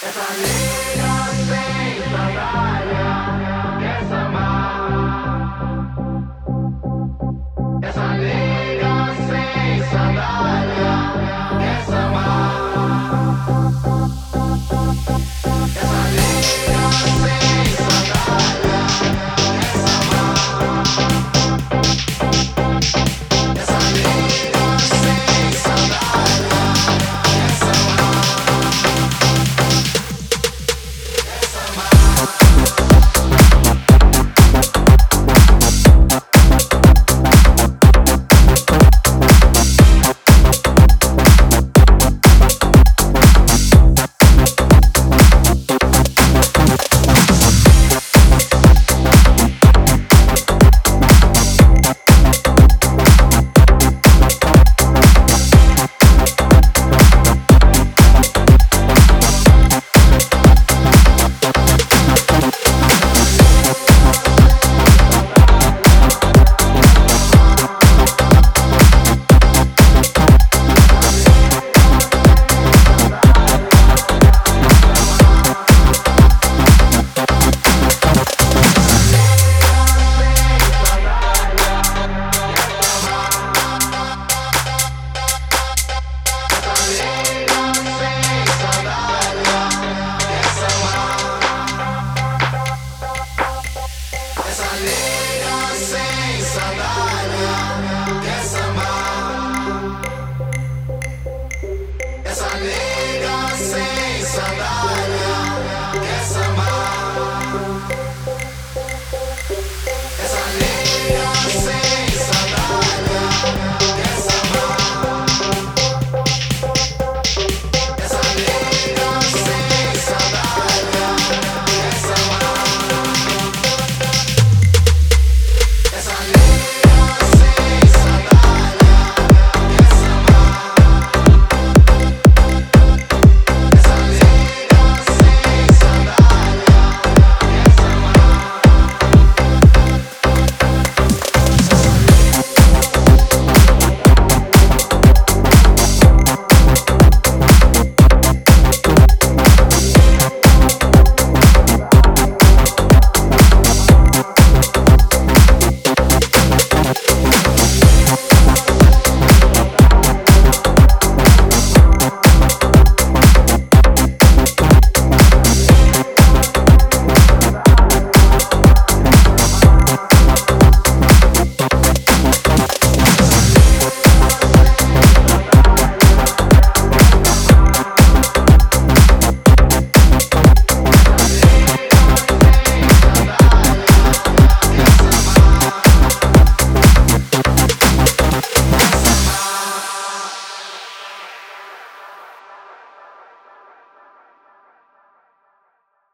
Essa nega sem sandália quer sambar. Essa nega sem sandália quer sambar. Essa nega sem sandália quer sambar. Essa nega sem sandália quer sambar. Essa nega sem sandália quer sambar. Essa nega sem sandália.